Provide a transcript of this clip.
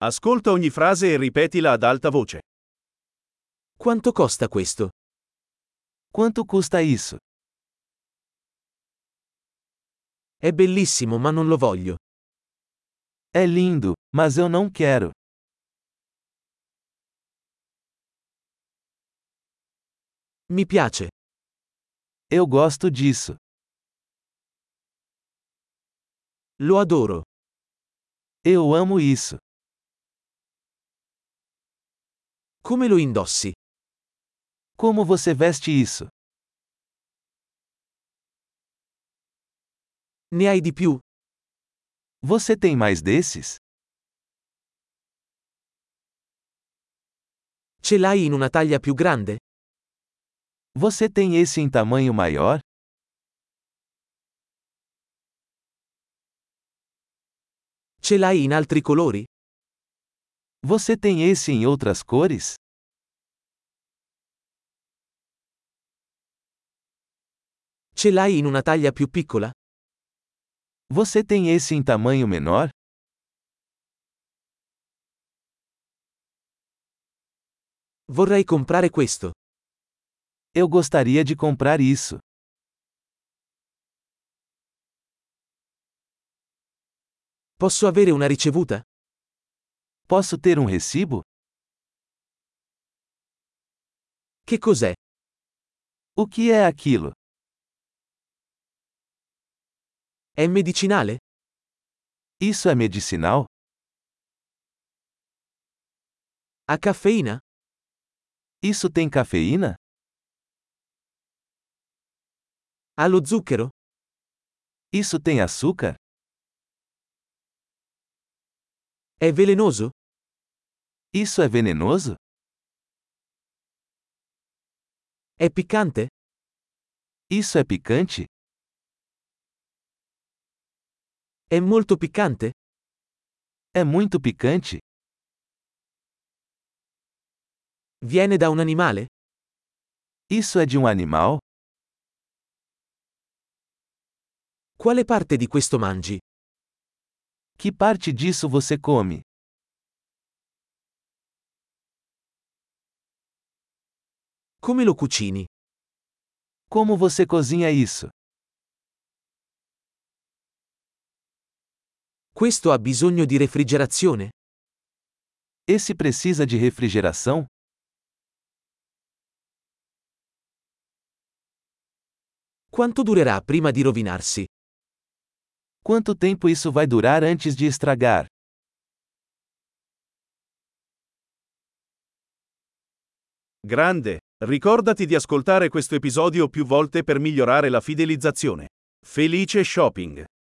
Ascolta ogni frase e ripetila ad alta voce. Quanto costa questo? Quanto custa isso? È bellissimo ma non lo voglio. É lindo, mas eu não quero. Mi piace. Eu gosto disso. Lo adoro. Eu amo isso. Come lo indossi? Como você veste isso? Ne hai di più? Você tem mais desses? Ce l'hai in una taglia più grande? Você tem esse em tamanho maior? Ce l'hai in altri colori? Você tem esse em outras cores? Ce l'hai in una taglia più piccola? Você tem esse em tamanho menor? Vorrei comprare questo. Eu gostaria de comprar isso. Posso avere una ricevuta? Posso ter um recibo? Che cos'è? O que é aquilo? È medicinale? Isso é medicinal? Ha caffeina? Isso tem cafeína? Ha lo zucchero? Isso tem açúcar? È velenoso? Isso é venenoso? È piccante? Isso é picante? È molto piccante? É muito picante? Viene da un animale? Isso é de um animal? Quale parte di questo mangi? Que parte disso você come? Come lo cucini? Como você cozinha isso? Questo ha bisogno di refrigerazione? Esse precisa de refrigeração? Quanto durerà prima di rovinarsi? Quanto tempo isso vai durar antes de estragar? Grande! Ricordati di ascoltare questo episodio più volte per migliorare la fidelizzazione. Felice shopping!